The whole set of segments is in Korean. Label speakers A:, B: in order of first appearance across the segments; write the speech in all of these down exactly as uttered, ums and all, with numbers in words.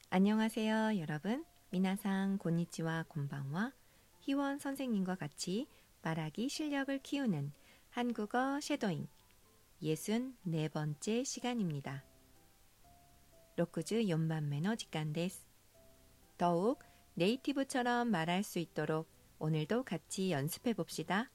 A: 안녕하세요, 여러분. 미나상 곤니치와 곤방와 희원 선생님과 같이 말하기 실력을 키우는 한국어 쉐도잉 예순네 번째 시간입니다. 로쿠즈 연반 매너 직간 데스. 더욱 네이티브처럼 말할 수 있도록 오늘도 같이 연습해 봅시다.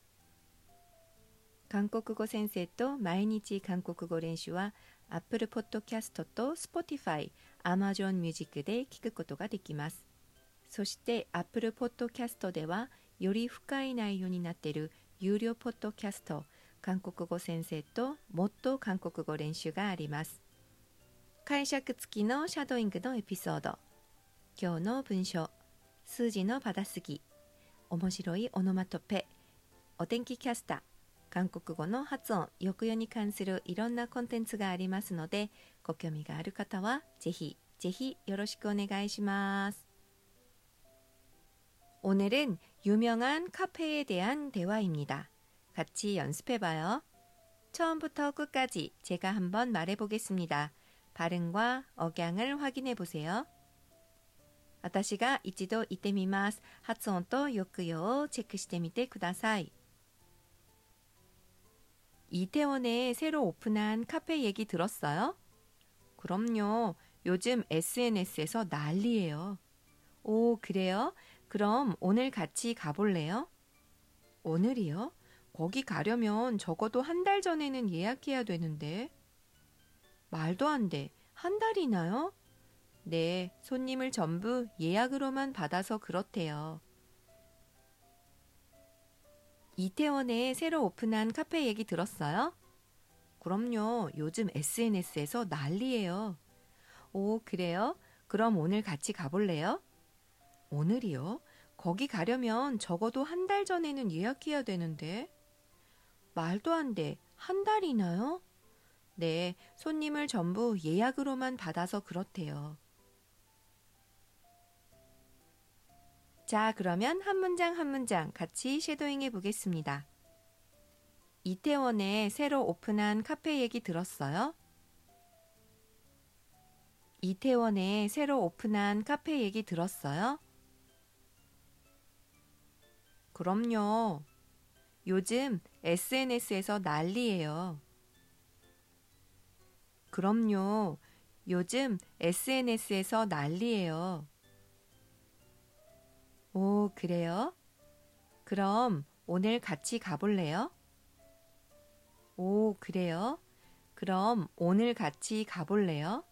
A: 한국어 센세이と毎日韓国語練習は Apple Podcast と Spotify、Amazon Music で聞くことができます。そして Apple Podcast ではより深い内容になっている有料ポッドキャスト、韓国語先生ともっと韓国語練習があります。解釈付きのシャドーイングのエピソード、今日の文章、数字の받아쓰기、面白いオノマトペ、お天気キャスター、韓国語の発音、抑揚に関するいろんなコンテンツがありますので、ご興味がある方はぜひぜひよろしくお願いします。오늘은 유명한 카페에 대한 대화입니다. 같이 연습해봐요. 처음부터 끝까지 제가 한번 말해보겠습니다. 발음과 억양을 확인해보세요. 私が一度言ってみます。発音と抑揚をチェックしてみてください。 이태원에 새로 오픈한 카페 얘기 들었어요? 그럼요. 요즘 에스엔에스에서 난리예요. 오, 그래요? 그럼 오늘 같이 가볼래요? 오늘이요? 거기 가려면 적어도 한 달 전에는 예약해야 되는데. 말도 안 돼. 한 달이나요? 네, 손님을 전부 예약으로만 받아서 그렇대요. 이태원에 새로 오픈한 카페 얘기 들었어요? 그럼요. 요즘 에스엔에스에서 난리예요. 오, 그래요? 그럼 오늘 같이 가볼래요? 오늘이요? 거기 가려면 적어도 한 달 전에는 예약해야 되는데. 말도 안 돼. 한 달이나요? 네, 손님을 전부 예약으로만 받아서 그렇대요. 자, 그러면 한 문장 한 문장 같이 쉐도잉 해보겠습니다. 이태원에 새로 오픈한 카페 얘기 들었어요? 이태원에 새로 오픈한 카페 얘기 들었어요? 그럼요. 요즘 에스엔에스에서 난리예요. 그럼요. 요즘 에스엔에스에서 난리예요. 오, 그래요? 그럼 오늘 같이 가볼래요? 오, 그래요? 그럼 오늘 같이 가볼래요?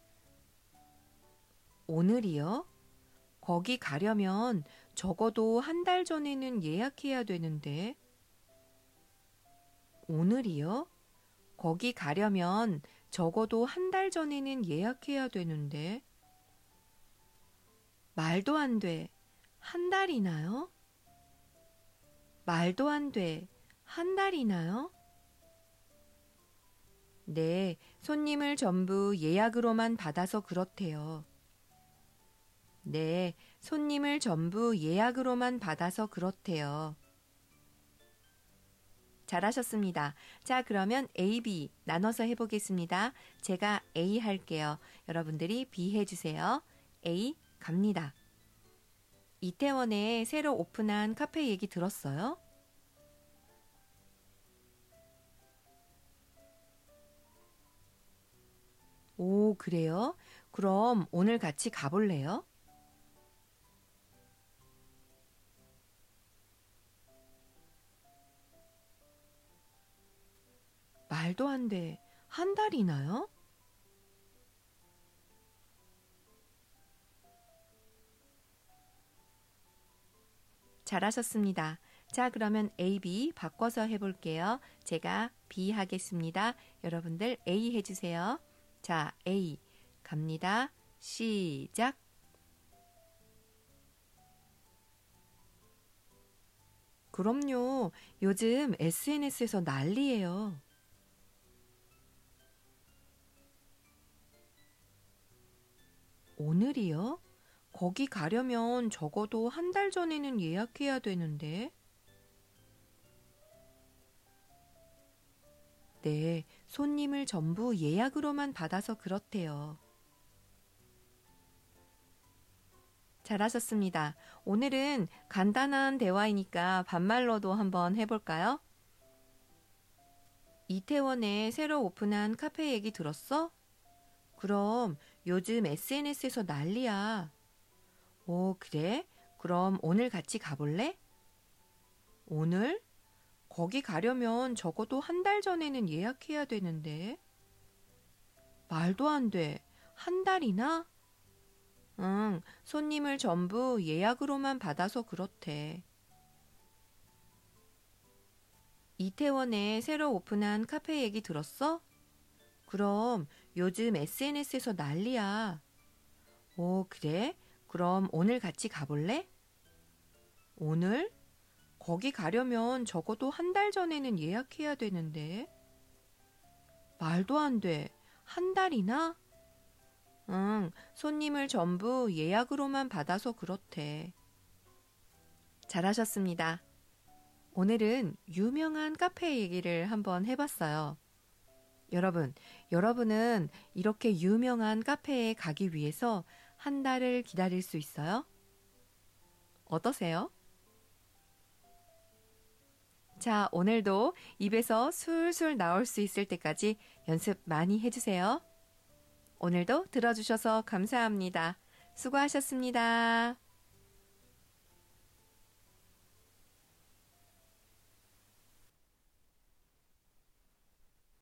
A: 오늘이요? 거기 가려면 적어도 한 달 전에는 예약해야 되는데. 오늘이요? 거기 가려면 적어도 한 달 전에는 예약해야 되는데. 말도 안 돼. 한 달이나요? 말도 안 돼. 한 달이나요? 네, 손님을 전부 예약으로만 받아서 그렇대요. 네, 손님을 전부 예약으로만 받아서 그렇대요. 잘하셨습니다. 자, 그러면 A, B 나눠서 해보겠습니다. 제가 A 할게요. 여러분들이 B 해주세요. A 갑니다. 이태원에 새로 오픈한 카페 얘기 들었어요? 오, 그래요? 그럼 오늘 같이 가볼래요? 말도 안 돼. 한 달이나요? 잘하셨습니다. 자, 그러면 A, B 바꿔서 해볼게요. 제가 B 하겠습니다. 여러분들 A 해주세요. 자, A 갑니다. 시작. 그럼요. 요즘 에스엔에스에서 난리예요. 오늘이요? 거기 가려면 적어도 한 달 전에는 예약해야 되는데. 네, 손님을 전부 예약으로만 받아서 그렇대요. 잘하셨습니다. 오늘은 간단한 대화이니까 반말로도 한번 해볼까요? 이태원에 새로 오픈한 카페 얘기 들었어? 그럼 요즘 에스엔에스에서 난리야. 오, 그래? 그럼 오늘 같이 가볼래? 오늘? 거기 가려면 적어도 한 달 전에는 예약해야 되는데. 말도 안 돼. 한 달이나? 응, 손님을 전부 예약으로만 받아서 그렇대. 이태원에 새로 오픈한 카페 얘기 들었어? 그럼 요즘 에스엔에스에서 난리야. 오, 그래? 그럼 오늘 같이 가볼래? 오늘? 거기 가려면 적어도 한 달 전에는 예약해야 되는데. 말도 안 돼. 한 달이나? 응, 손님을 전부 예약으로만 받아서 그렇대. 잘하셨습니다. 오늘은 유명한 카페 얘기를 한번 해봤어요. 여러분, 여러분은 이렇게 유명한 카페에 가기 위해서 한 달을 기다릴 수 있어요? 어떠세요? 자, 오늘도 입에서 술술 나올 수 있을 때까지 연습 많이 해주세요. 오늘도 들어주셔서 감사합니다. 수고하셨습니다.